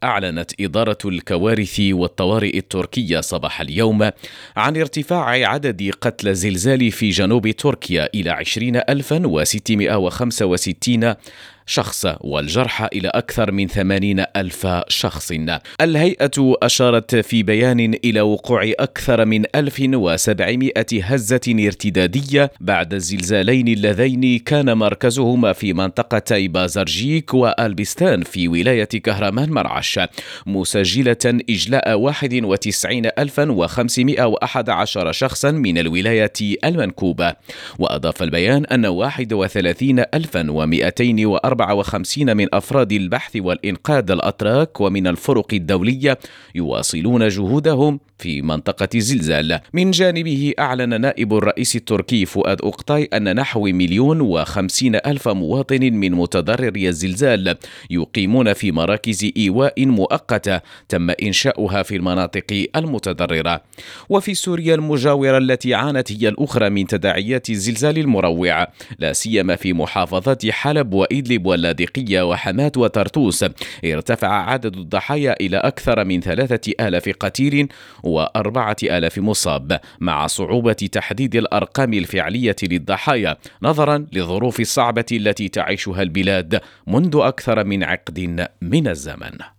أعلنت إدارة الكوارث والطوارئ التركية صباح اليوم عن ارتفاع عدد قتلى الزلزال في جنوب تركيا إلى 20,665 شخص والجرحى إلى أكثر من 80,000 شخص. الهيئة أشارت في بيان إلى وقوع أكثر من 1700 هزة ارتدادية بعد الزلزالين اللذين كان مركزهما في منطقتي بازرجيك وألبستان في ولاية كهرمان مرعش، مسجلة إجلاء 91,511 شخصا من الولاية المنكوبة. وأضاف البيان أن 31,254 من أفراد البحث والإنقاذ الأتراك ومن الفرق الدولية يواصلون جهودهم في منطقة الزلزال. من جانبه أعلن نائب الرئيس التركي فؤاد أوكتاي أن نحو 1,050,000 مواطن من متضرري الزلزال يقيمون في مراكز إيواء مؤقتة تم إنشاؤها في المناطق المتضررة. وفي سوريا المجاورة التي عانت هي الأخرى من تداعيات الزلزال المروع، لا سيما في محافظات حلب وإدلب واللاذقية وحماة وطرطوس، ارتفع عدد الضحايا إلى أكثر من 3,000 قتيل و4,000 مصاب، مع صعوبة تحديد الأرقام الفعلية للضحايا نظرا للظروف الصعبة التي تعيشها البلاد منذ أكثر من عقد من الزمن.